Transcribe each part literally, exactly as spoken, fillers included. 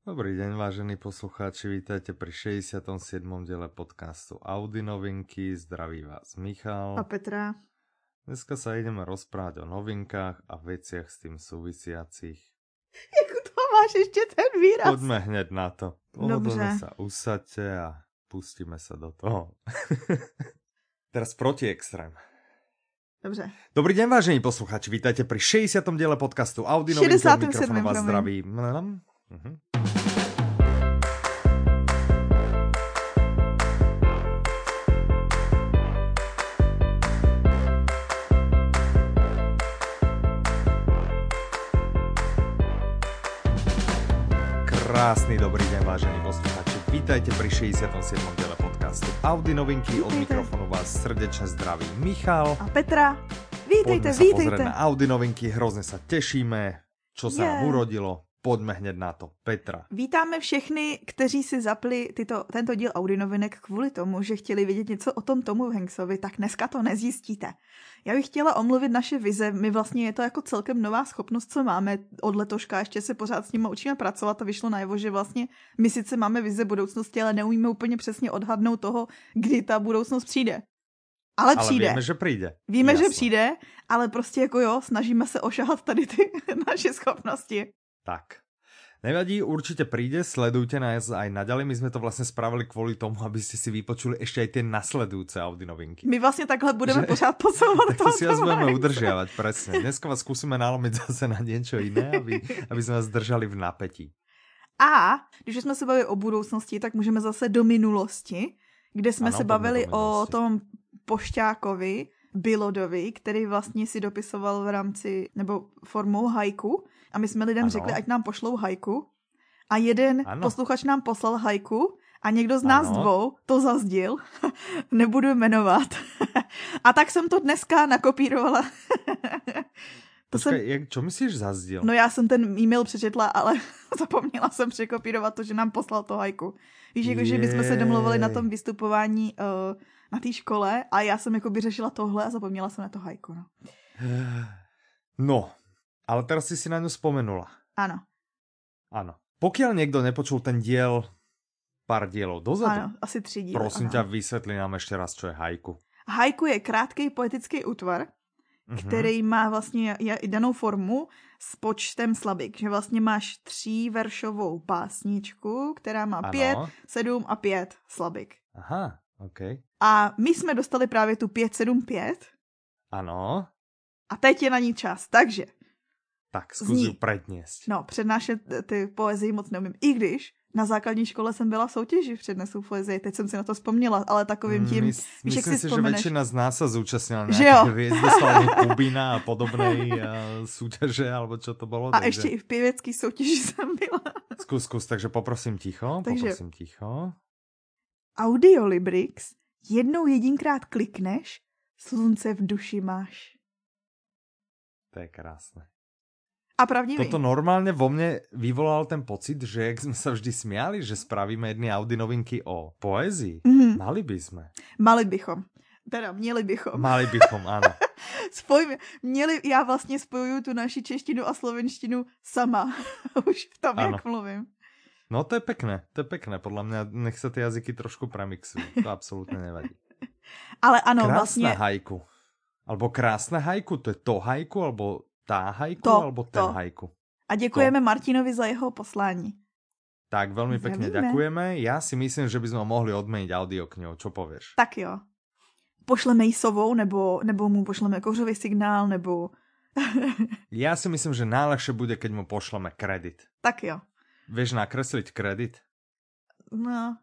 Dobrý deň, vážení poslucháči, vítajte pri šesťdesiatom siedmom diele podcastu Audi novinky. Zdraví vás Michal a Petra. Dneska sa ideme rozprávať o novinkách a veciach s tým súvisiacich. Jak to máš ešte ten výraz? Poďme hneď na to. Pohodlne sa usaďte a pustíme sa do toho. Teraz proti extrém. Dobře. Dobrý deň, vážení poslucháči, vítajte pri šesťdesiatom diele podcastu Audi novinky. Od mikrofónu vás zdraví. Uh-huh. Krásny dobrý deň, vážení poslucháči. Vítajte pri šesťdesiatom siedmom diele podcastu Audi novinky. Od mikrofónu vás srdečne zdraví Michal a Petra. Vítejte, Poďme vítejte. sa pozrieť na Audi novinky, hrozne sa tešíme, čo sa yeah. nám urodilo. Pojďme hned na to. Petra. Vítáme všechny, kteří si zapli tyto, tento díl Audi novinek kvůli tomu, že chtěli vědět něco o tom Tomu Hanksovi, tak dneska to nezjistíte. Já bych chtěla omluvit naše vize. My vlastně je to jako celkem nová schopnost, co máme od letoška. Ještě se pořád s nimi učíme pracovat a vyšlo najevo, že vlastně my sice máme vize budoucnosti, ale neumíme úplně přesně odhadnout toho, kdy ta budoucnost přijde. Ale přijde. Ale víme, že přijde. Víme, Jasne. že přijde, ale prostě jako jo, snažíme se ošahat tady ty naše schopnosti. Tak. Nevadí, určite príde, sledujte nás aj naďalej. My sme to vlastne spravili kvôli tomu, aby ste si vypočuli ešte aj tie nasledujúce Audi novinky. My vlastne takhle budeme že... pořád posouvat. Tak to si vás budeme udržiavať, presne. Dneska vás skúsime nalomiť zase na niečo iné, aby, aby sme vás držali v napätí. A když jsme se bavili o budoucnosti, tak můžeme zase do minulosti, kde jsme ano, se bavili o tom pošťákovi, Bilodovi, který vlastně si dopisoval v rámci, nebo formou haiku. A my jsme lidem ano. řekli, ať nám pošlou haiku. A jeden ano. posluchač nám poslal haiku a někdo z nás ano. dvou to zazdil. Nebudu jmenovat. A tak jsem to dneska nakopírovala. To Počkej, jsem... jak, čo myslíš zazdil? No já jsem ten e-mail přečetla, ale zapomněla jsem překopírovat to, že nám poslal to haiku. Víš, jako, že my jsme se domluvili na tom vystupování uh, na té škole a já jsem jakoby řešila tohle a zapomněla jsem na to haiku. No. no, ale teraz si si na ňu spomenula. Áno. Áno. Pokiaľ niekto nepočul ten diel pár dielov dozadu, áno, asi tři díly. Prosím áno. ťa, vysvetli nám ešte raz, čo je haiku. Haiku je krátký poetický útvar, mm-hmm. který má vlastně danou formu s počtem slabik. Že vlastně máš tříveršovou básničku, která má ano. pět, sedm a pět slabik. Aha, ok. A my jsme dostali právě tu pět, sedm, pět. Ano. A teď je na ní čas, takže... Tak, zkus ju predniesť. No, přednášet ty poezii moc neumím. I když na základní škole jsem byla v soutěži v přednesu poezii, teď jsem si na to vzpomněla, ale takovým tím, Mys, víš, jak si Myslím si, vzpomeneš. že väčšina z nás sa zúčastnila nejaké Hviezdoslavy Kubína a podobnej uh, súťaže, alebo čo to bolo. A takže... ještě i v pěvecký soutěži jsem byla. Skús, skús, takže poprosím ticho, takže poprosím ticho. Audiolibrix, jednou jedinkrát klikneš, slunce v duši máš. To je krásne. A pravdivý. Toto normálne vo mne vyvolal ten pocit, že jak sme sa vždy smiali, že spravíme jedny Audi novinky o poezii. Mm-hmm. Mali by sme. Mali bychom. Teda měli bychom. Mali bychom, áno. Spojíme. Měli, já vlastně spojuju tu naši češtinu a slovenštinu sama. Už v tom, ano. Jak mluvím. No to je pekné, to je pekné. Podľa mňa nech sa tie jazyky trošku premixujú. To absolútne nevadí. Ale ano, krásne vlastne... haiku. Alebo krásne haiku, to je to haiku, alebo tá haiku, to, alebo ten to. haiku. A děkujeme to. Martinovi za jeho poslání. Tak, veľmi pekne Zdravíme. ďakujeme. Ja si myslím, že by sme mohli odmeniť audioknihu. Čo povieš? Tak jo. Pošleme jí sovou, nebo, nebo mu pošleme kouřový signál, nebo... Ja si myslím, že najlepšie bude, keď mu pošleme kredit. Tak jo. Vieš nakresliť kredit? No...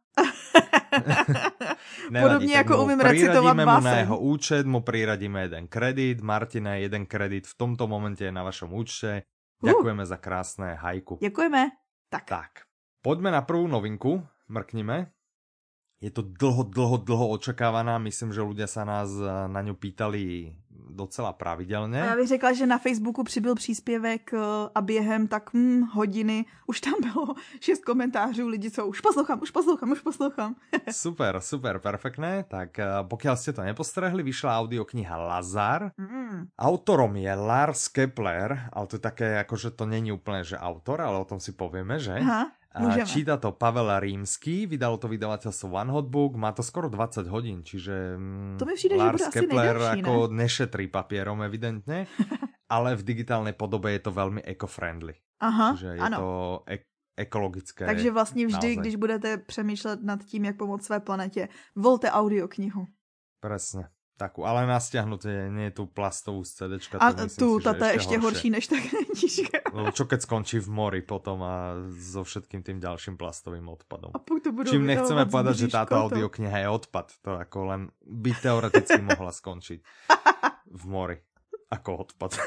Nevadí, podobne ako umiem recitovať báseň. Priradíme mu na jeho účet, mu priradíme jeden kredit. Martina, jeden kredit v tomto momente je na vašom účte. Ďakujeme uh. za krásne haiku. Ďakujeme. Tak. tak. Poďme na prvú novinku. Mrknime. Je to dlho, dlho, dlho očakávaná. Myslím, že ľudia sa nás na ňu pýtali docela pravidelně. A já bych řekla, že na Facebooku přibyl příspěvek a během tak hm, hodiny už tam bylo šest komentářů lidí, co už poslouchám, už poslouchám, už poslouchám. Super, super, perfektné. Tak pokiaľ ste to nepostrehli, vyšla audiokniha Lazar. Mm. Autorom je Lars Kepler, ale to je také, akože to není úplne, že autor, ale o tom si povieme, že? Aha. A číta to Pavel Rímsky, vydalo to vydavateľstvo One Hot Book, má to skoro dvadsať hodín, čiže to mi přijde, Lars že bude Kepler asi nejdelší, ako ne? nešetrí papierom evidentne, ale v digitálnej podobe je to veľmi eco-friendly. Aha, čiže je ano. to e- ekologické. Takže vlastně vždy, naozaj. Když budete přemýšlet nad tím, jak pomoct své planetě, volte audioknihu. Presne. Takú, ale na stiahnutie, nie je tu plastovú z CDčka. A myslím tu, si, táto je ešte horší než tá knižka. Lebo čo keď skončí v mori potom a so všetkým tým ďalším plastovým odpadom. A to budú Čím nechceme povedať, že táto to. audiokniha je odpad. To ako len by teoreticky mohla skončiť v mori. Ako odpad.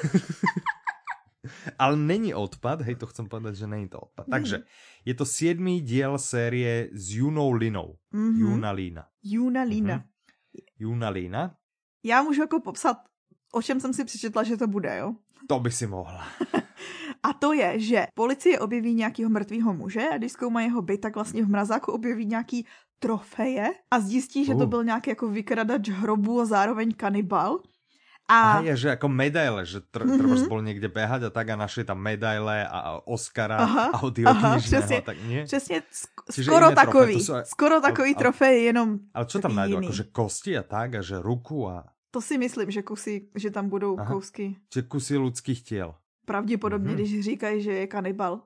Ale není odpad, hej, to chcem povedať, že není to odpad. Mm. Takže je to siedmy diel série s Junou Linou. Mm-hmm. Juna Lína. Juna Lína. Mm-hmm. Juna Lína. Já můžu jako popsat, o čem jsem si přečetla, že to bude, jo? To by si mohla. A to je, že policie objeví nějakého mrtvého muže a když zkoumají jeho byt, tak vlastně v mrazáku objeví nějaký trofeje a zjistí, že uh. to byl nějaký jako vykradač hrobů a zároveň kanibal. A je, že ako medaile, že tr- mm-hmm. trebárs bol niekde behať a tak a našli tam medaile a Oscara audioknižného a tak nie? Přesně, sk- skoro takový, aj... skoro takový ale, trofej, jenom ale čo tam nájdú, akože kosti a tak a že ruku a... To si myslím, že kusy, že tam budou Aha. kousky. Čiže kusy ľudských tiel. Pravděpodobně, mm-hmm. když říkají, že je kanibal.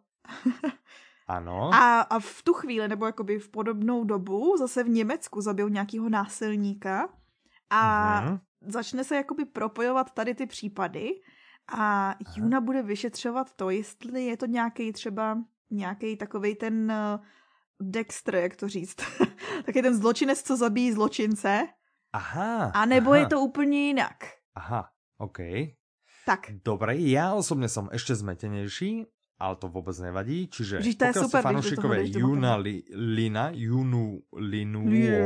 Ano. A, a v tu chvíli, nebo jakoby v podobnou dobu, zase v Německu zabil nějakého násilníka a mm-hmm. začne se jakoby propojovat tady ty případy a Aha. Juna bude vyšetřovat to, jestli je to nějaký třeba nějaký takovej ten uh, Dexter, jak to říct. Taky ten zločinec, co zabíjí zločince. Aha. A nebo aha. je to úplně jinak. Aha, OK. Tak. Dobre, ja osobne som ešte zmetenejší, ale to vôbec nevadí. Čiže Vždyť to je super, ste fanúšikové Juna li, Lina, Junu Linu,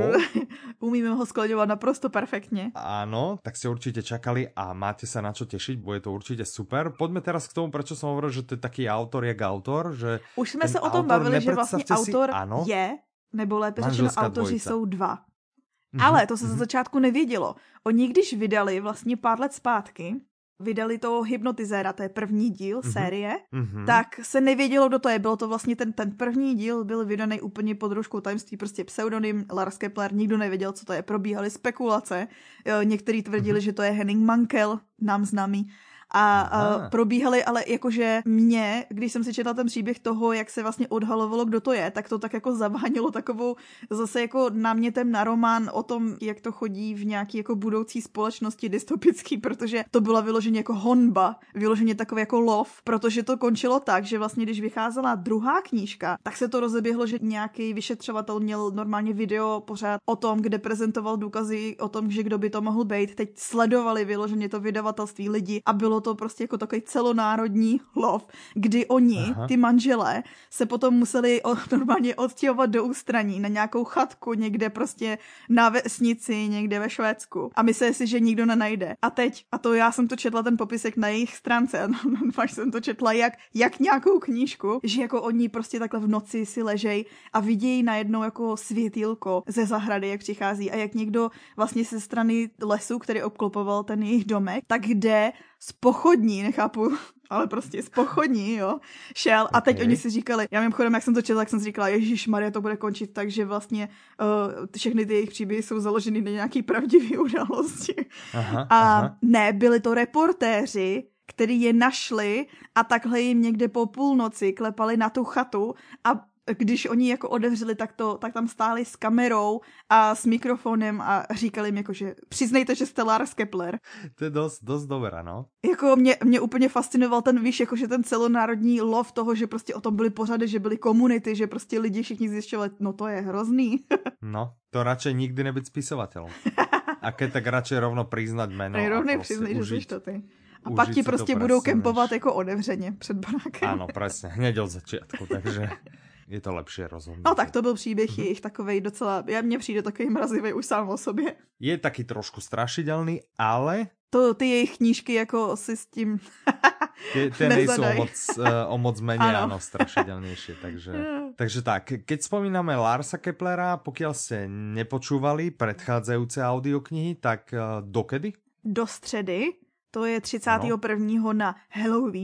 umíme ho skloňovať naprosto perfektne. Áno, tak ste určite čakali a máte sa na čo tešiť, bude to určite super. Poďme teraz k tomu, prečo som hovoril, že to je taký autor jak autor. Že už sme sa o tom bavili, že vlastne autor si, áno, je, nebo lépe řečeno, autoři jsou dva. Mm-hmm. Ale to se mm-hmm. za začátku nevědělo. Oni když vydali vlastně pár let zpátky, vydali toho Hypnotizéra, to je první díl mm-hmm. série, mm-hmm. tak se nevědělo, kdo to je. Bylo to vlastně ten, ten první díl, byl vydaný úplně pod rouškou tajemství, prostě pseudonym Lars Kepler, nikdo nevěděl, co to je, probíhaly spekulace, někteří tvrdili, mm-hmm. že to je Henning Mankell, nám známý, a, a probíhaly, ale jakože mě, když jsem si četla ten příběh toho, jak se vlastně odhalovalo, kdo to je, tak to tak jako zavánilo takovou zase jako námětem na román o tom, jak to chodí v nějaký jako budoucí společnosti dystopický, protože to byla vyloženě jako honba, vyloženě takový jako lov, protože to končilo tak, že vlastně když vycházela druhá knížka, tak se to rozeběhlo, že nějaký vyšetřovatel měl normálně video pořád o tom, kde prezentoval důkazy o tom, že kdo by to mohl být. Teď sledovali vyloženě to vydavatelství lidi a bylo to prostě jako takový celonárodní lov, kdy oni, Aha. ty manželé, se potom museli o, normálně odstěhovat do ústraní na nějakou chatku někde prostě na vesnici, někde ve Švédsku. A mysleli si, že nikdo nenajde. A teď, a to já jsem to četla ten popisek na jejich stránce, a až jsem to četla jak, jak nějakou knížku, že jako oni prostě takhle v noci si ležej a vidějí najednou jako světýlko ze zahrady, jak přichází a jak někdo vlastně ze strany lesu, který obklopoval ten jejich domek, tak jde z pochodní, nechápu, ale prostě z pochodní, jo, šel a teď okay. oni si říkali, já mimochodem, jak jsem to četla, jak jsem si říkala, ježišmarja, to bude končit tak, že vlastně uh, všechny ty jejich příběhy jsou založeny na nějaký pravdivý události. Aha, a aha. ne, byli to reportéři, který je našli a takhle jim někde po půlnoci klepali na tu chatu a když oni jako otevřeli, tak, to, tak tam stáli s kamerou a s mikrofonem a říkali jim jako, že přiznejte, že jste Lars Kepler. To je dost, dost dobré, no. Jako mě, mě úplně fascinoval ten, víš, jakože ten celonárodní lov toho, že prostě o tom byly pořady, že byly komunity, že prostě lidi všichni zjišťovali, no to je hrozný. No, to radšej nikdy nebyť spisovateľom. A keď tak radšej rovno priznať meno. Rovnej přiznaj, že jsi to ty. A pak ti prostě budou kempovat jako otevřeně před barákem. Áno, presne, hneď od začiatku, takže je to lepšie rozhodnúť. No tak to byl příběh mm-hmm. jejich takovej docela, ja mne přijde takový mrazivý už sám o sobě. Je taký trošku strašidelný, ale... To ty jejich knížky jako si s tím Tie, tie nejsú o moc, uh, o moc menej, áno, strašidelnejšie. Takže, takže tak, keď spomíname Larsa Keplera, pokiaľ ste nepočúvali predchádzajúce audioknihy, tak uh, dokedy? Do středy, to je třicátého prvního na Halloween,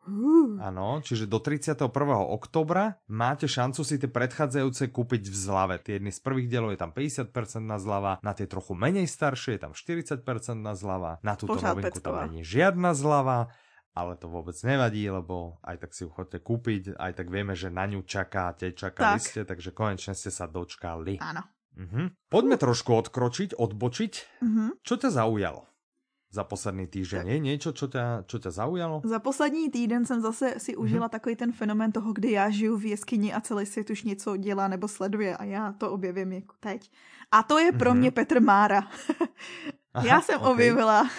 Áno, čiže do tridsiateho prvého októbra máte šancu si tie predchádzajúce kúpiť v zlave. Tie jedny z prvých dielov je tam päťdesiat percent na zľava, na tie trochu menej staršie je tam štyridsať percent na zľava, na túto Pořád novinku pecková. tam nie je žiadna zľava, ale to vôbec nevadí, lebo aj tak si ju chodte kúpiť, aj tak vieme, že na ňu čakáte, čakali tak. ste, takže konečne ste sa dočkali. Áno. Uh-huh. Poďme uh. trošku odkročiť, odbočiť. Uh-huh. Čo ťa zaujalo za posledný týždeň? Je niečo, čo ťa, čo ťa zaujalo? Za poslední týden jsem zase si užila mm-hmm. takový ten fenomén toho, kdy já žiju v jeskyni a celý svět už něco dělá nebo sleduje a já to objevím jako teď. A to je pro mm-hmm. mě Petr Mára. Aha, já jsem okay. objevila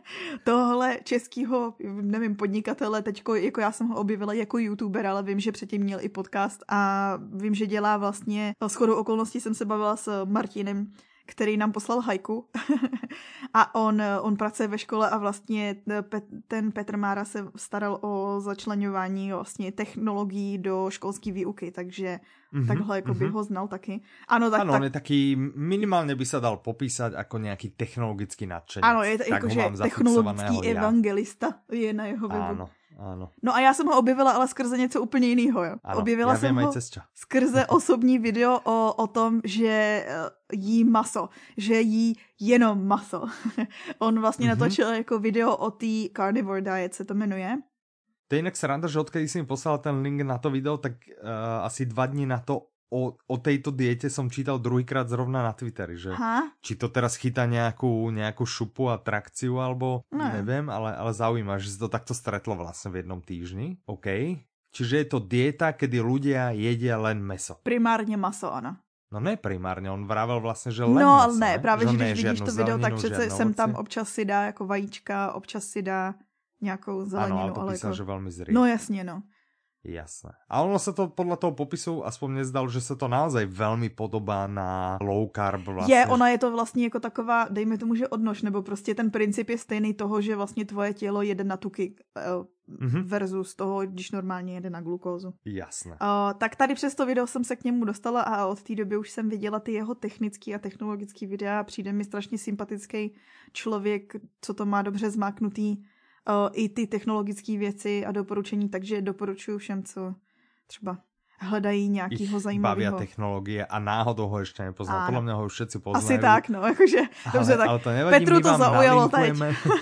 tohle českýho, nevím, podnikatele, teďko, jako já jsem ho objevila jako youtuber, ale vím, že předtím měl i podcast a vím, že dělá vlastně, shodou okolností jsem se bavila s Martinem, který nám poslal hajku a on, on pracuje ve škole a vlastně ten Petr Mára se staral o začleňování vlastně technologií do školské výuky, takže mm-hmm, takhle jako by mm-hmm. ho znal taky. Ano, tak, ano, tak... on je taký, minimálně by se dal popísať jako nějaký technologický nadšenec. Ano, je to jakože technologický evangelista je na jeho webu. Ano. Áno. No a já jsem ho objevila, ale skrze něco úplně jiného. Jo. Áno, objevila ja jsem ho skrze osobní video o, o tom, že jí maso, že jí jenom maso. On vlastně mm-hmm. natočil jako video o té carnivore diet, se to jmenuje. To je jinak sranda, že odkedy si mi poslal ten link na to video, tak uh, asi dva dní na to O, o tejto diete som čítal druhýkrát zrovna na Twitteri, že ha? či to teraz chytá nejakú, nejakú šupu a trakciu, alebo no. neviem, ale, ale zaujíma, že si to takto stretlo vlastne v jednom týždni. OK. Čiže je to dieta, kedy ľudia jedia len mäso. Primárne maso, áno. No ne primárne, on vravel vlastne, že len no, mäso. No ne, právě, že když vidíš to video, zeleninu, tak přece sem tam občas si dá jako vajíčka, občas si dá nějakou zeleninu. Áno, ale to písal, jako... že veľmi zrýchlo. No jasně, no. Jasné. A ono sa to podľa toho popisu aspoň nezdalo, že sa to naozaj veľmi podobá na low carb vlastne. Je, ona je to vlastně jako taková, dejme tomu, že odnož, nebo prostě ten princip je stejný toho, že vlastně tvoje tělo jede na tuky uh, mm-hmm. versus toho, když normálně jede na glukózu. Jasné. Uh, tak tady přes to video jsem se k němu dostala a od té doby už jsem viděla ty jeho technický a technologický videa a přijde mi strašně sympatický člověk, co to má dobře zmáknutý. Uh, i ty technologické věci a doporučení, takže doporučuji všem, co třeba hledají nějakýho zajímavého. Bavia technologie a náhodou ho ještě nepoznal. Podle mě ho už všetci poznají. Asi tak, no, jakože, ale, dobře, tak ale to nevadí, Petru to zaujalo teď.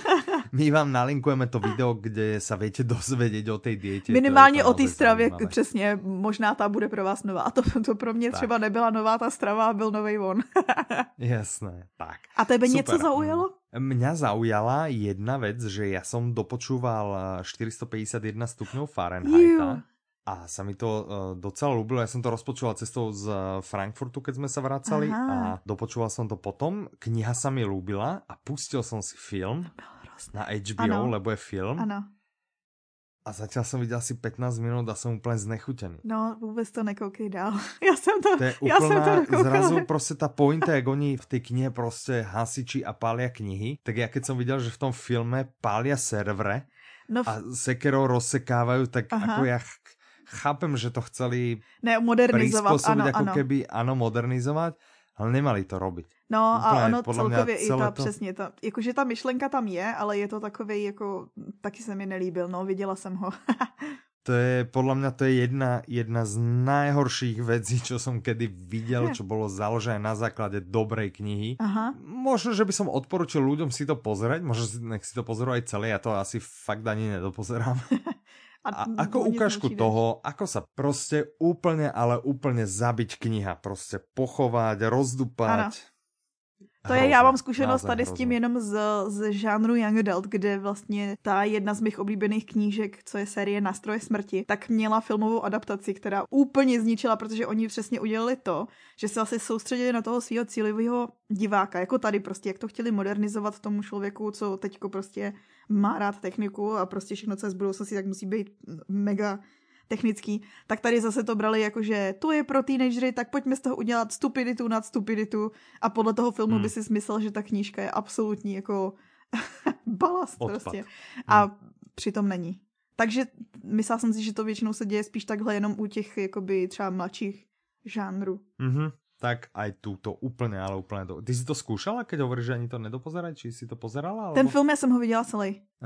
My vám nalinkujeme to video, kde sa viete dozvedieť o tej diete. Minimálně o té stravě, přesně, možná ta bude pro vás nová. A to, to pro mě tak. Třeba nebyla nová ta strava a byl novej on. Jasné, tak. A tebe Super. Něco zaujalo? Mňa zaujala jedna vec, že ja som dopočúval štyristopäťdesiatjeden stupňov Fahrenheita. A sa mi to uh, docela ľúbilo. Ja som to rozpočúval cestou z Frankfurtu, keď sme sa vracali. Aha. A dopočúval som to potom. Kniha sa mi ľúbila a pustil som si film na há bé ó, ano. Lebo je film. Ano. A zatiaľ som videl asi pätnásť minút a som úplne znechutený. No, vůbec to nekoukej dál. Já jsem to, to je já jsem to nekoukala. Zrazu prostě ta pointa, jak oni v tej knihe prostě hasiči a pália knihy, tak ja keď som videl, že v tom filme pália servere no v... a sekerou rozsekávajú, tak Aha. ako ja ch- chápem, že to chceli ne, modernizovat, ano, ako ano. keby, ano, modernizovat, ale nemali to robiť. No úplně, a ono celkově i ta, to... přesně, ta, jakože ta myšlenka tam je, ale je to takovej, jako, taky se mi nelíbil, no, viděla jsem ho. To je, podľa mňa to je jedna, jedna z najhorších vecí, čo som kedy videl, čo bolo založené na základe dobrej knihy. Aha. Možno, že by som odporučil ľuďom si to pozrieť, možno nech si to pozerú aj celé, ja to asi fakt ani nedopozerám. A, a ako ukážku toho, ako sa proste úplne, ale úplne zabiť kniha, proste pochovať, rozdupať. Ano. To je, já mám zkušenost tady hrozno. S tím jenom z, z žánru Young Adult, kde vlastně ta jedna z mých oblíbených knížek, co je série Nástroje smrti, tak měla filmovou adaptaci, která úplně zničila, protože oni přesně udělali to, že se asi soustředili na toho svého cílového diváka, jako tady prostě, jak to chtěli modernizovat tomu člověku, co teďko prostě má rád techniku a prostě všechno, co je z budoucnosti, tak musí být mega technický, tak tady zase to brali jako, že to je pro teenagery, tak pojďme z toho udělat stupiditu nad stupiditu a podle toho filmu hmm. by si smyslel, že ta knížka je absolutní jako balast Odpad. Prostě. A hmm. přitom není. Takže myslela jsem si, že to většinou se děje spíš takhle jenom u těch jakoby třeba mladších žánrů. Mm-hmm. Tak aj túto úplne, ale úplne do... Ty si to skúšala, keď hovoríš, že ani to nedopozerať? Či si to pozerala? Alebo... Ten film, ja som ho viděla celý. Aha.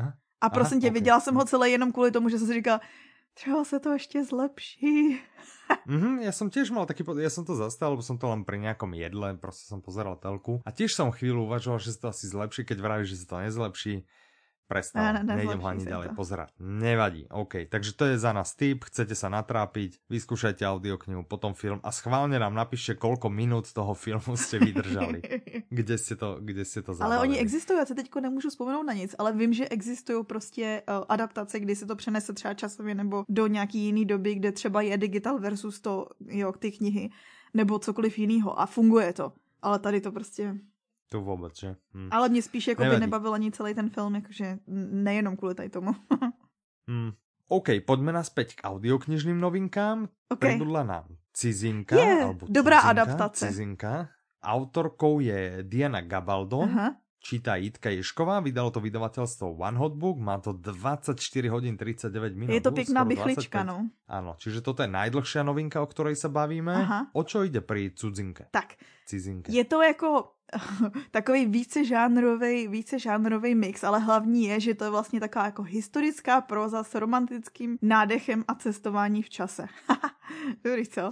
A prosím tě, okay. Viděla jsem ho celé jenom kvůli tomu, že jsem si říkala, třeba se to ještě zlepší. Mm-hmm, ja som tiež mal taký, ja som to zastal, lebo som to len pri nejakom jedle, proste som pozeral telku a tiež som chvíľu uvažoval, že sa to asi zlepší, keď vravíš, že sa to nezlepší. Prestal, ne, ne, nejdem ho ani ďalej to. pozerať. Nevadí, OK. Takže to je za nás tip, chcete sa natrápiť, vyskúšajte audioknihu, potom film a schválne nám napíšte, koľko minút toho filmu ste vydržali. Kde ste to, kde ste to zabavili. Ale oni existují, já se teďko nemůžu vzpomenout na nic, ale vím, že existují prostě uh, adaptace, kdy se to přenese třeba časově nebo do nějaký jiný doby, kde třeba je digital versus to, jo, ty knihy, nebo cokoliv jiného a funguje to. Ale tady to prostě... To vůbec, že? Hm. Ale mě spíš jako by nebavil ani celý ten film, jakože nejenom kvůli tady tomu. hm. OK, poďme naspäť k audioknižným novinkám. Okay. Prebudla nám Cizinka. Yeah, alebo dobrá Cizinka, adaptace. Cizinka. Autorkou je Diana Gabaldon. Aha. Číta Jitka Ješková, vydalo to vydavateľstvo One Hot Book, má to dvadsaťštyri hodín tridsaťdeväť minút. Je to pekná bychlička, no. Áno, čiže toto je najdlhšia novinka, o ktorej sa bavíme. Aha. O čo ide pri Cudzinke? Tak, Cizinke. Je to jako takový vícežánrovej, vícežánrovej mix, ale hlavní je, že to je vlastně taková jako historická próza s romantickým nádechem a cestování v čase. Dobrý, co?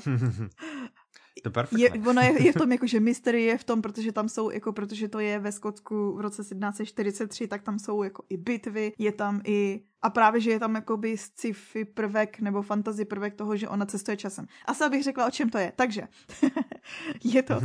To je perfektné. Je, ono je, je v tom jako, že mystery je v tom, protože tam jsou, jako protože to je ve Skotsku v roce sedmnáct čtyřicet tři, tak tam jsou jako i bitvy, je tam i, a právě, že je tam jakoby sci-fi prvek nebo fantasy prvek toho, že ona cestuje časem. Asi abych řekla, o čem to je. Takže, je to,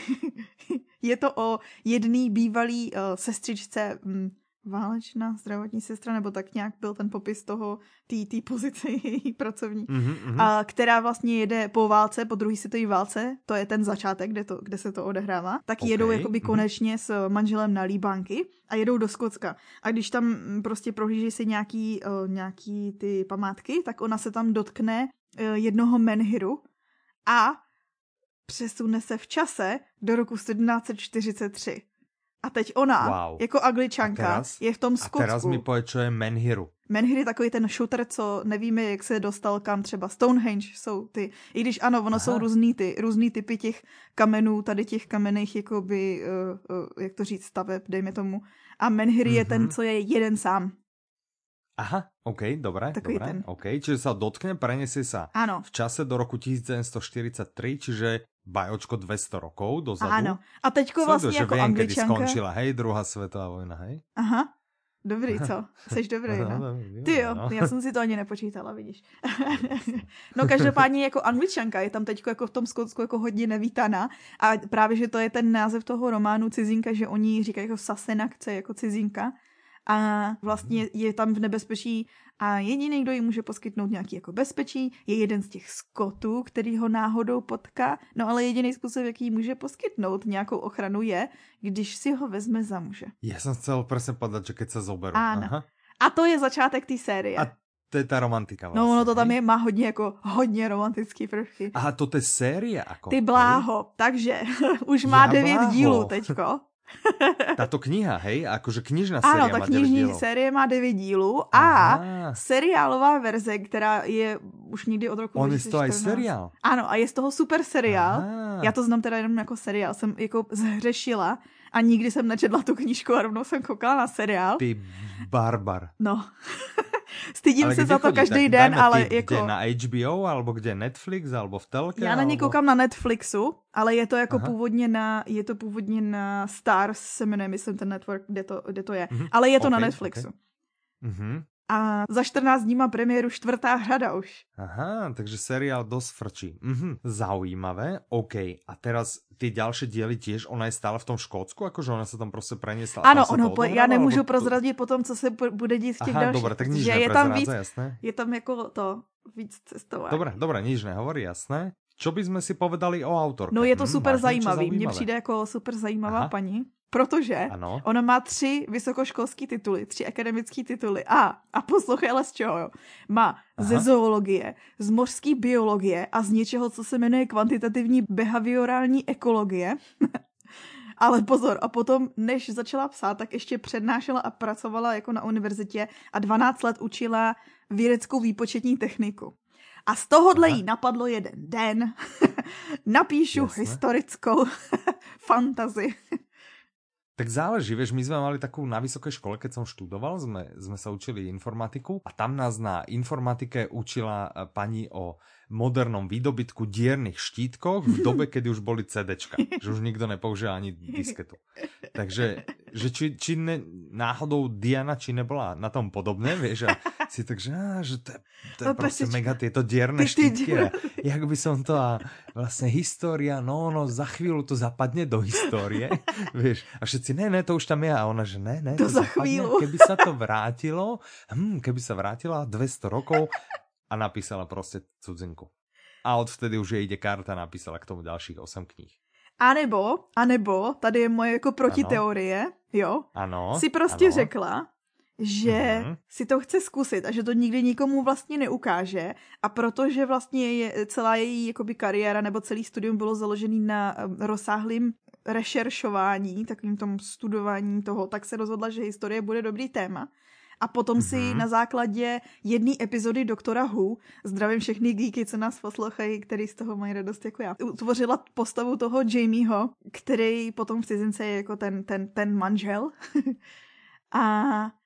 je to o jedný bývalý uh, sestřičce, um, válečná zdravotní sestra, nebo tak nějak byl ten popis toho, té pozice její pracovní, mm-hmm. a která vlastně jede po válce, po druhé světové válce, to je ten začátek, kde, to, kde se to odehrává, tak okay. jedou jakoby mm-hmm. konečně s manželem na Líbánky a jedou do Skotska. A když tam prostě prohlíží si nějaký, uh, nějaký ty památky, tak ona se tam dotkne uh, jednoho menhiru a přesune se v čase do roku sedmnáct čtyřicet tři. A teď ona, wow. jako Angličanka, teraz, je v tom Skotsku. A teraz mi povie, čo je Menhiru. Menhir je takový ten shooter, co nevíme, jak se dostal kam, třeba Stonehenge jsou ty. I když ano, ono Aha. jsou různý, ty, různý typy těch kamenů, tady těch kamenných, jakoby, uh, uh, jak to říct, staveb, dejme tomu. A Menhir mm-hmm. je ten, co je jeden sám. Aha, OK, dobré, takový dobré, ten. OK. Čiže sa dotkne, preniesie sa ano. v čase do roku devätnásťstoštyridsaťtri, čiže bajočko dvesto rokov dozadu. Ano. A teďko vlastně Sleduj, jako viem, Angličanka. kedy skončila, hej, druhá svetová vojna, hej? Aha. Dobrý, co? Seš dobrý, no? Ty jo, já jsem si to ani nepočítala, vidíš. No každopádně jako Angličanka je tam teďko jako v tom Skotsku jako hodně nevítaná a právě, že to je ten název toho románu Cizinka, že oni říkají jako Sasenakce, jako cizinka a vlastně je tam v nebezpečí a jediný, kdo jí může poskytnout nějaký jako bezpečí, je jeden z těch Skotů, který ho náhodou potká, no ale jediný způsob, jaký jí může poskytnout nějakou ochranu je, když si ho vezme za muže. Já jsem chcel presne povedať, že keď sa zoberú. Áno. Aha. A to je začátek té série. A to je ta romantika vlastně. No ono to tam je, má hodně jako hodně romantický prvky. Aha, to je série ako? Ty bláho, takže už má ja devět bláho. dílů teďko. Táto kniha, hej? Akože knižná série ano, ta má knižní devět dílů. série má devět dílů a Aha. seriálová verze, která je už někdy od roku On dvacet čtrnáct. On je z toho aj seriál. Ano, a je z toho super seriál. Aha. Já to znám teda jenom jako seriál. Jsem jako zhřešila a nikdy jsem nečetla tu knížku a rovnou jsem koukala na seriál. Ty barbar. No. Stydím ale se za to chodí? každý tak den, ale ty, jako... Kde na H B O, alebo kde Netflix, alebo v telke? Já na ně alebo... koukám na Netflixu, ale je to jako Aha. původně na, je to původně na Stars, se jmenuje, myslím, ten network, kde to, kde to je. Mm-hmm. Ale je to okay, na Netflixu. Okay. Mm-hmm. A za čtrnáct dní má premiéru čtvrtá řada už. Aha, takže seriál dosť frčí. Mhm, zaujímavé, OK. A teraz tie ďalšie diely tiež, ona je stále v tom Škótsku, akože ona sa tam prostě preniesla. Ano, ono, po, já nemůžu prozradit to... potom, co se bude dít v těch Aha, dalších. Dobre, tak nič je tam víc, jasné. Je tam jako to víc cestování. Dobre, dobre, nič nehovorí, jasné. Čo by sme si povedali o autorke? No je to super hmm, zajímavý. Mně přijde jako super zajímavá Aha. paní. Protože ano. ona má tři vysokoškolské tituly, tři akademické tituly. A, a poslouchej, ale z čeho, jo. Má Aha. ze zoologie, z mořské biologie a z něčeho, co se jmenuje kvantitativní behaviorální ekologie. Ale pozor, a potom, než začala psát, tak ještě přednášela a pracovala jako na univerzitě a dvanáct let učila vědeckou výpočetní techniku. A z tohohle jí napadlo jeden den. Napíšu Jasne. historickou fantasy. Tak záleží, vieš, my sme mali takú na vysokej škole, keď som študoval, sme, sme sa učili informatiku a tam nás na informatike učila pani o modernom výdobytku diernych štítkoch v dobe, kedy už boli CDčka, že už nikto nepoužíval ani disketu. Takže, že či, či ne, náhodou Diana, či nebola na tom podobné, vieš, a si tak, že, á, že to je, to je proste mega tieto dierne štítky a jak by som to a vlastne história, no, no, za chvíľu to zapadne do histórie, vieš, a všetci, ne, ne, to už tam je, a ona, že ne, ne, to, to za zapadne, chvíľu. Keby sa to vrátilo, hm, keby sa vrátila dvesto rokov a napísala proste cudzinku. A odvtedy už jej ide karta, napísala k tomu ďalších osem kníh. A nebo, a nebo, tady je moje jako protiteorie, jo, ano, si prostě ano. řekla, že mm-hmm. si to chce zkusit a že to nikdy nikomu vlastně neukáže a protože vlastně je celá její jakoby kariéra nebo celý studium bylo založený na rozsáhlým rešeršování, takovým tom studování toho, tak se rozhodla, že historie bude dobrý téma. A potom mm-hmm. si na základě jedné epizody Doktora Who, zdravím všechny geeky, co nás poslouchají, který z toho mají radost jako já, utvořila postavu toho Jamieho, který potom v cizince je jako ten, ten, ten manžel. A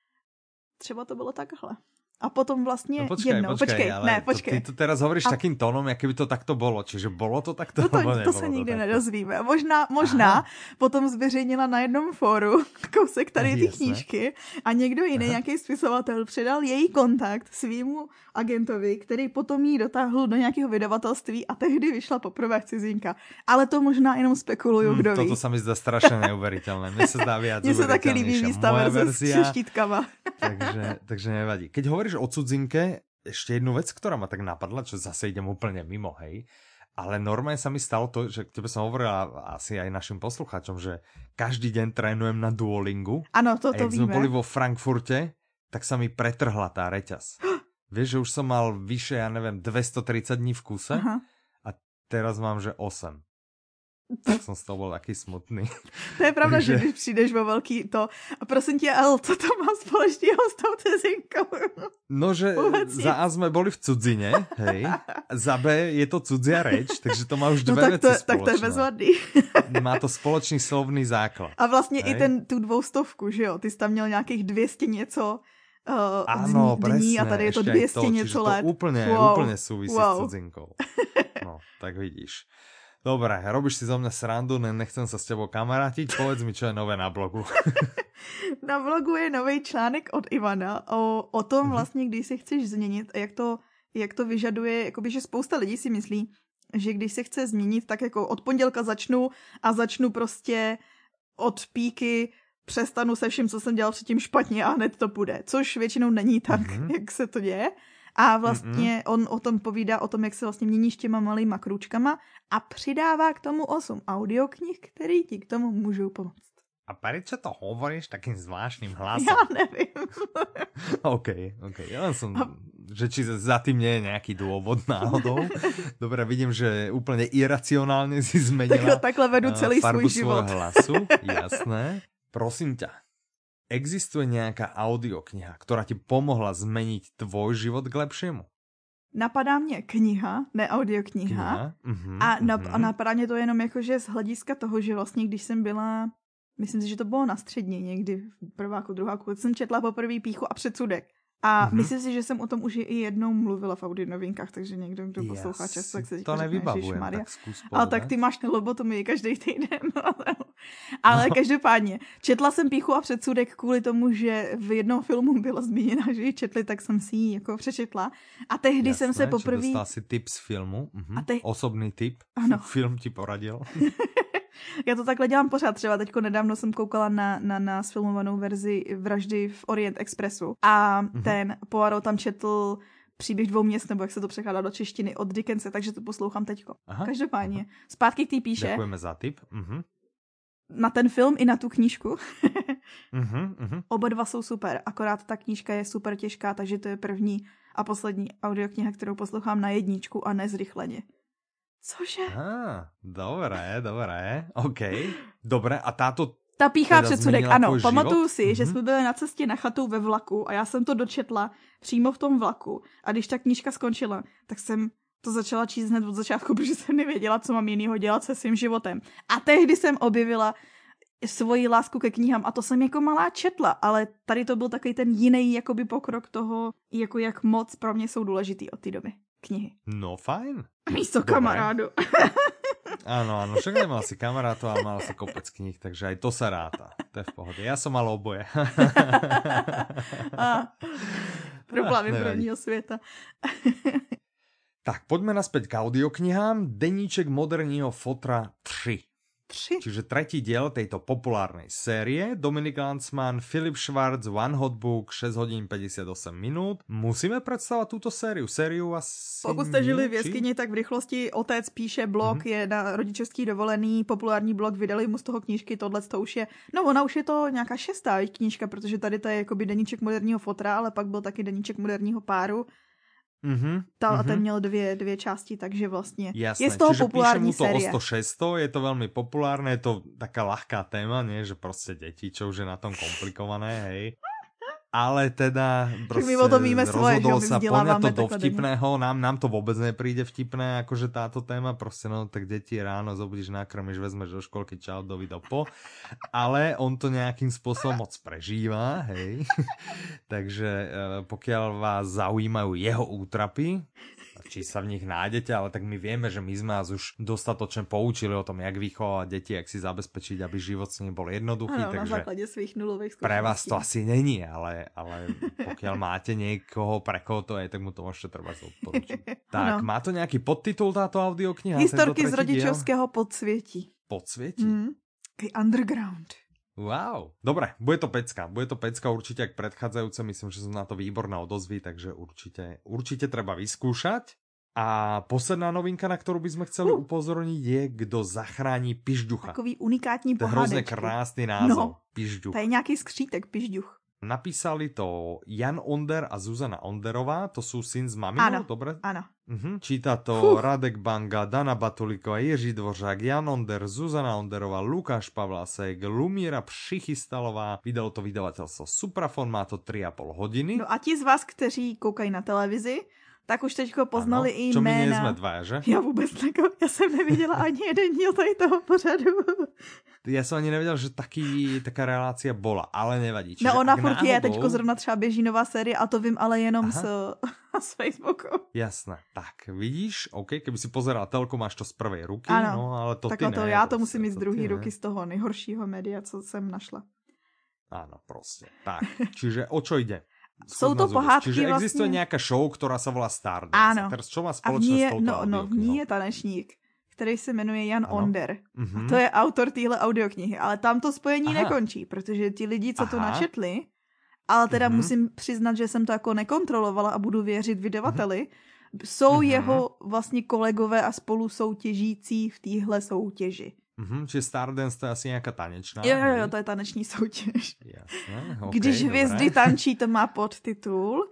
třeba to bylo takhle. A potom vlastně no počkej, jednou, počkej, počkej, ale ne, počkej. To, ty to teraz hovoríš a... takým tónom, jak by to takto bolo. Čiže bolo to takto? No to, to se nikdy to nedozvíme. Možná, možná potom zveřejnila na jednom fóru kousek tady ty knížky a někdo jiný, nějaký spisovatel, předal její kontakt svýmu agentovi, který potom jí dotáhl do nějakého vydavatelství a tehdy vyšla poprvé cizinka. Ale to možná jenom spekuluju, kdo hmm, ví. Toto sa mi zdá strašne neuveriteľné. Mne sa zdá viac Mně se taky líbí výstava s štítkama. takže, takže nevadí. Keď hovoríš o cudzinke, ešte jednu vec, ktorá ma tak napadla, čo zase idem úplne mimo, hej. Ale normálne sa mi stalo to, že tebe som hovorila asi aj našim poslucháčom, že každý deň trénujem na Duolingu. Ano, to to víme. sme boli vo Frankfurte, tak sa mi pretrhla tá reťaz. Vieš, že už som mal vyše, ja neviem, dvestotridsať dní v kuse. Aha. A teraz mám, že osem. Tak som z toho bol taký smutný. To je pravda, Takže... že když přijdeš vo velký to a prosím tě, ale co to má společného s tou cizinkou? No, že Uvací. Za A sme boli v cudzine, hej, za B je to cudzia reč, takže to má už dve no, tak veci to, tak to je bezvadný. Má to spoločný slovný základ. A vlastně hej? i ten, tu dvoustovku, že jo, ty jsi tam měl nějakých dvě stě něco uh, Áno, dní presne, a tady je to dvě stě něco let. To úplne, wow. úplne súvisí wow. s cudzinkou. No, tak vidíš. Dobre, robíš si zo mňa srandu, ne, nechcem sa s tebou kamarátiť, povedz mi, čo je nové na blogu. Na blogu je nový článek od Ivana o, o tom vlastně, když si chceš změnit a jak to, jak to vyžaduje, jakoby, že spousta lidí si myslí, že když se chce změnit, tak jako od pondělka začnu a začnu prostě od píky, přestanu se vším, co jsem dělal předtím špatně a hned to půjde, což většinou není tak, mm-hmm. jak se to děje. A vlastně mm-hmm. on o tom povídá, o tom, jak se vlastně měníš těma malýma krůčkama a přidává k tomu osm audioknih, který ti k tomu můžou pomoct. A prečo to hovoríš takým zvláštnym hlasom? Ja neviem. OK, OK. Ja len som, a... že či za tým nie je nejaký dôvod náhodou. Dobre, vidím, že úplne iracionálne si zmenila tak, takhle vedu celý svoj život. Hlasu. Jasné. Prosím ťa, existuje nejaká audiokniha, ktorá ti pomohla zmeniť tvoj život k lepšiemu? Napadá mě kniha, ne audiokniha. Kniha? Uh-huh, a, nap- uh-huh. a napadá mě to jenom jakože z hlediska toho, že vlastně, když jsem byla, myslím si, že to bylo na střední někdy, prváku, druháku, jsem četla poprvé Píchu a předsudek. A uh-huh. myslím si, že jsem o tom už i jednou mluvila v audionovinkách, takže někdo, kdo poslouchá často, tak se říká, to nevybavujem, tak zkus povedať. Ale tak ty máš na lobotomii každý týden. Ale no. Každopádně, četla jsem Píchu a předsudek kvůli tomu, že v jednom filmu byla zmíněna, že ji četli, tak jsem si ji jako přečetla. A tehdy Jasné, jsem se poprvé... Jasné, dostala si tip z filmu, uh-huh. te... osobný tip, ano. Film ti poradil. Já to takhle dělám pořád, třeba teďko nedávno jsem koukala na, na, na sfilmovanou verzi Vraždy v Orient Expressu a mm-hmm. ten Poirot tam četl Příběh dvou měst, nebo jak se to překládá do češtiny, od Dickense, takže to poslouchám teďko. Aha, Každopádně, aha. Zpátky k té píše. Děkujeme za tip. Mm-hmm. Na ten film i na tu knížku. mm-hmm, mm-hmm. Oba dva jsou super, akorát ta knížka je super těžká, takže to je první a poslední audiokniha, kterou poslouchám na jedničku a nezrychleně. Cože? Á, dobré, dobré, OK. Dobré, a táto Ta Pícha teda předsudek, ano, pamatuju si, mm-hmm. že jsme byli na cestě na chatu ve vlaku a já jsem to dočetla přímo v tom vlaku a když ta knížka skončila, tak jsem to začala číst hned od začátku, protože jsem nevěděla, co mám jinýho dělat se svým životem. A tehdy jsem objevila svoji lásku ke knihám a to jsem jako malá četla, ale tady to byl takový ten jiný jakoby pokrok toho, jako jak moc pro mě jsou důležitý od té doby knihy. No fajn. Místo Dobre. Kamarádu. Áno, áno, však nemal si kamarátov, ale mal si kopec kníh, takže aj to sa ráta. To je v pohode. Ja som mal oboje. A, problémy prvního světa. Tak, poďme naspäť k audioknihám. Deníček moderního fotra tri. Tři. Čiže tretí diel tejto populárnej série. Dominik Landsman, Filip Schwarz, One Hot Book, šesť hodín päťdesiatosem minút. Musíme predstavať túto sériu. Sériu asi... Pokud jste žili v jeskyni, tak v rychlosti otec píše blog, mm-hmm. je na rodičovský dovolený, populární blog, vydali mu z toho knížky, tohle to už je... No ona už je to nějaká šestá knížka, protože tady to je jakoby deníček moderního fotra, ale pak byl taky deníček moderního páru. Mm-hmm, Ta, mm-hmm. Ten měl dvě, dvě části, takže vlastně Jasné. je z toho Čiže populární píše mu to série. o sto šesť, je to veľmi populárne, je to taká ľahká téma, nie? Že proste deti, čo už je na tom komplikované, hej. Ale teda proste rozhodol sa poňať to do vtipného, nám, nám to vôbec nepríde vtipné, akože táto téma, proste no, tak deti ráno zobudíš, nakrmiš, vezmeš do školky, čau, dovido po, ale on to nejakým spôsobom moc prežíva, hej, takže pokiaľ vás zaujímajú jeho útrapy, či sa v nich nájdete, ale tak my vieme, že my sme vás už dostatočne poučili o tom, jak vychovať deti, jak si zabezpečiť, aby život s nimi bol jednoduchý. Ano, takže na základe svých nulových skúseností. Pre vás to asi není, ale, ale pokiaľ máte niekoho, pre koho to je, tak mu to môžete treba odporučiť. Tak, má to nejaký podtitul táto audiokniha? Historky z rodičovského podsvietí. Podsvietí? Mm, underground. Wow, dobre, bude to pecka, bude to pecka určite jak predchádzajúce, myslím, že sú na to výborné odozvy, takže určite, určite treba vyskúšať. A posledná novinka, na ktorú by sme chceli uh. upozorniť, je Kdo zachrání Pižďucha. Takový unikátní pohádečky. To je hrozne krásny názov, no, Pižďuch. To je nejaký skřítek, Pižďuch. Napísali to Jan Onder a Zuzana Onderová, to sú syn s maminou, áno, dobre? Áno. Uh-huh. Číta to uh. Radek Banga, Dana Batuliková, Jiří Dvořák, Jan Onder, Zuzana Onderová, Lukáš Pavlásek, Lumíra Přichystalová. Vydalo to vydavateľstvo Suprafon, má to tri a pol hodiny. No a ti z vás, kteří koukají na televizi, tak už teďko poznali ano, i čo jména. Čo my nie sme dvaja, že? Ja vôbec tako, ja som nevidela ani jeden díl tady toho pořadu. Ja som ani nevedel, že taký, taká relácia bola, ale nevadí. Čiže no ona furt náhodou... je, teďko zrovna třeba běží nová série a to vím ale jenom z, z Facebooku. Jasné, tak vidíš, OK, keby si pozeral telku, máš to z prvej ruky, ano, no ale to ty to, ne. Já to musím mít z druhé ruky z toho nejhoršího média, co jsem našla. Áno, proste. Tak, čiže o čo ide? Jsou to pohádky Čiže vlastně... existuje nějaká show, která se volá Stardance. Ano. A teraz čo má společné s touto no, no, v ní je tanečník, který se jmenuje Jan ano. Onder. Mm-hmm. A to je autor téhle audioknihy. Ale tam to spojení Aha. nekončí, protože ti lidi, co Aha. to načetli, ale teda mm-hmm. musím přiznat, že jsem to jako nekontrolovala a budu věřit vydavateli, mm-hmm. jsou mm-hmm. jeho vlastně kolegové a spolusoutěžící v téhle soutěži. Mm-hmm, čiže Stardance to je asi nějaká tanečná. Jo, jo, jo, to je taneční soutěž. Jasné, okay, Když dobré. hvězdy tančí, to má podtitul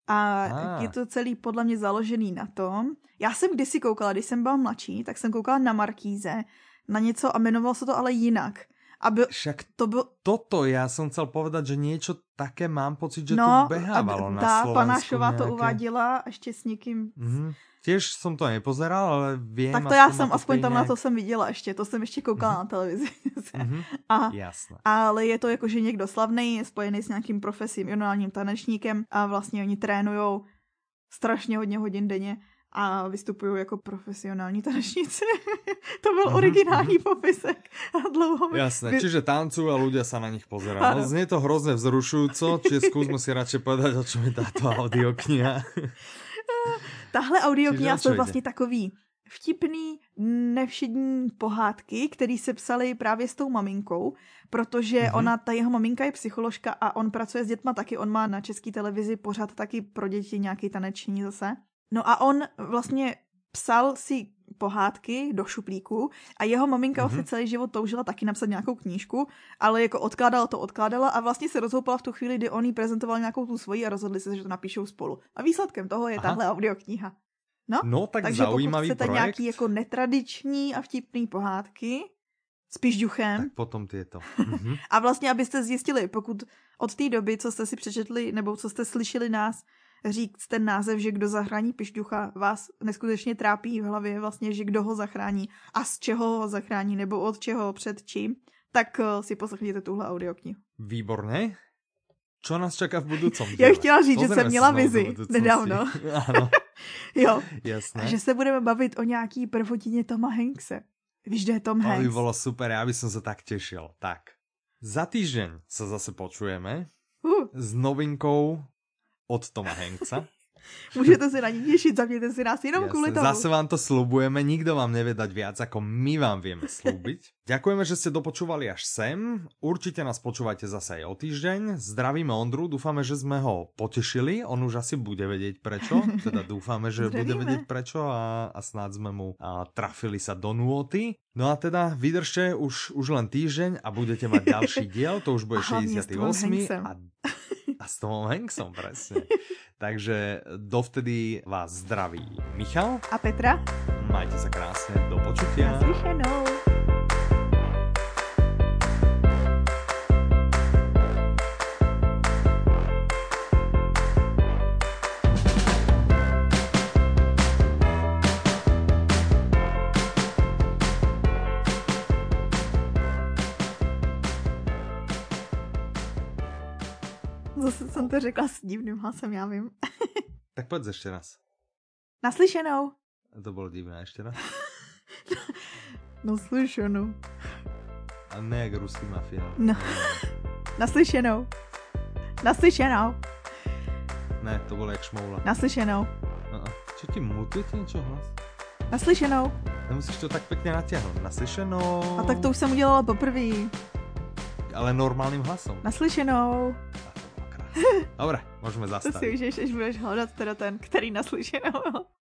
a ah. je to celý podle mě založený na tom. Já jsem kdysi koukala, když jsem byla mladší, tak jsem koukala na Markíze, na něco a jmenovalo se to ale jinak. Aby Však to byl... toto, ja som chcel povedať, že niečo také mám pocit, že no, tu behávalo na tá Slovensku. Panášová nejaké... to uváděla ještě s někým... Mm-hmm. Tiež som to nepozeral, ale viem... Tak to já jsem, aspoň tam nejak... na to jsem viděla ještě, to jsem ještě koukala mm-hmm. na televizi. mm-hmm. a, Jasné. Ale je to jako, že někdo slavný, spojený s nějakým profesionálním tanečníkem a vlastně oni trénujou strašně hodně hodin denně a vystupují jako profesionální tanečníci. To byl mm-hmm. originální popisek. A dlouho... Jasné, vy... čiže tancujú a ľudia sa na nich pozerajú. No, znie to hrozne vzrušujúco, čiže skúsme si radšej povedať, o čom je táto audiokniha. Tahle audiokniha jsou vlastně takový vtipný, nevšední pohádky, který se psali právě s tou maminkou, protože mm-hmm. ona, ta jeho maminka je psycholožka a on pracuje s dětma taky, on má na české televizi pořád taky pro děti nějaký taneční zase. No a on vlastně psal si pohádky do šuplíku a jeho maminka mm-hmm. vlastně celý život toužila taky napsat nějakou knížku, ale jako odkládala to, odkládala a vlastně se rozhoupala v tu chvíli, kdy on jí prezentoval nějakou tu svoji a rozhodli se, že to napíšou spolu. A výsledkem toho je Aha. tahle audiokniha. No, no tak takže zaujímavý pokud chcete projekt. nějaký jako netradiční a vtipný pohádky s Pižďuchem. Tak potom tieto. Mm-hmm. A vlastně, abyste zjistili, pokud od té doby, co jste si přečetli, nebo co jste slyšeli nás říct ten název, že Kdo zachrání Pižďucha, vás neskutečně trápí v hlavě vlastně, že kdo ho zachrání a z čeho ho zachrání, nebo od čeho, před čím, tak si poslechněte tuhle audioknihu. Výborně. Čo nás čaká v budoucím díle? Já bych chtěla říct, Pozrieme že jsem měla vizi nedávno. Áno. Jo. Jasné. A že se budeme bavit o nějaký prvotině Toma Hankse. Víš, kde je Tom Hanks? To by bolo super, ja by som sa tak tešil. Tak, za týždeň sa zase počujeme uh. s novinkou od Toma Hanksa. Můžete se na ní těšit, zapněte si nás jenom kvůli tomu. Zase vám to slubujeme, nikto vám nevie dať viac, ako my vám vieme slúbiť. Ďakujeme, že ste dopočúvali až sem. Určite nás počúvajte zase aj o týždeň. Zdravíme Ondru, dúfame, že sme ho potešili. On už asi bude vedieť prečo. Teda dúfame, že Zdravíme. bude vedieť prečo a, a snáď sme mu a, trafili sa do nôty. No a teda vydržte už, už len týždeň a budete mať ďalší diel. To už bude šesťdesiaty ôsmy a, a s Tomom Hanksom, presne. Takže dovtedy vás zdraví Michal a Petra. Majte sa krásne, do počutia. Naslyšenou. Zase jsem to řekla s divným hlasem, já vím. Tak pojď ještě raz. Naslyšenou. To bylo divné, ještě raz. Naslyšenou. A ne jak ruský mafia. No. Naslyšenou. Naslyšenou. Ne, to bylo jak šmoula. Naslyšenou. Uh-uh. Čo ti mutuje ti něco hlas? Naslyšenou. Nemusíš to tak pěkně natáhnout. Naslyšenou. A tak to už jsem udělala poprvé. Ale normálním hlasom. Naslyšenou. Dobre, môžeme zastaviť. To si už, až budeš hľadať teda ten, ktorý naslyšenou.